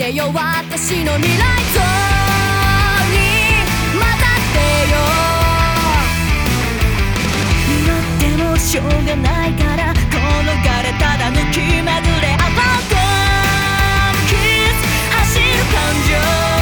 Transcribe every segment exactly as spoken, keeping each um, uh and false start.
てよ私の未来像に混ざってよ。祈ってもしょうがないから転がれただの気まぐれアバンドキス走る感情。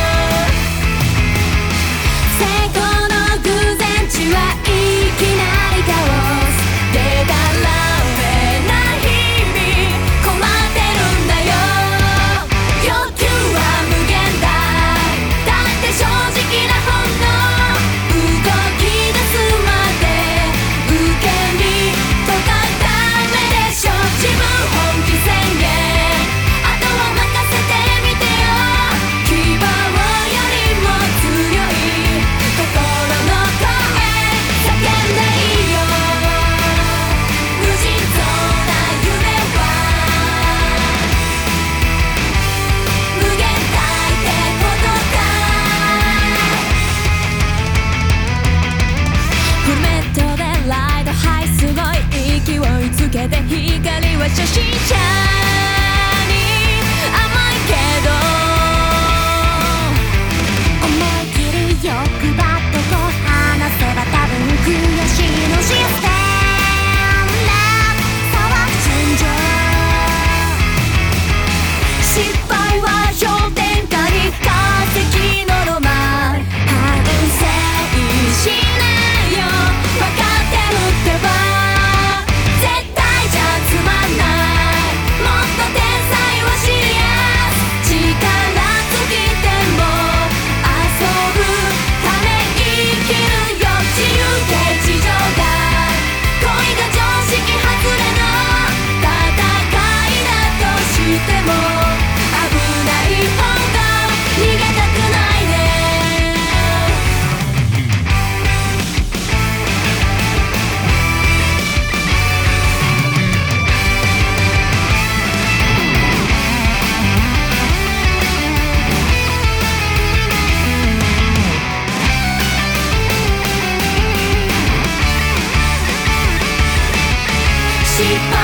成功の偶然値はいきなりカオスでたらめな日々困ってるんだよ。欲求は無限大だって正直な本能動き出すまで受け身とかダメでしょ。自分本気宣言あとは任せてみてよ。希望よりも強い心の声叫んでいいよ。無尽蔵な夢は無限大ってことか。フルメットでライドハイすごい勢いつけて光は初心者に甘いけど思い切り欲張ってこう話せば多分悔しいのシステムな騒ぐ順序。失敗は氷点下に化石のロマン反省しないよ分かってるってば。絶対じゃつまんないもっと天才をシリアス力尽きても遊ぶため生きるよ。自由で地上だ恋が常識外れの戦いだとしても危ないほど逃げたくないね。失敗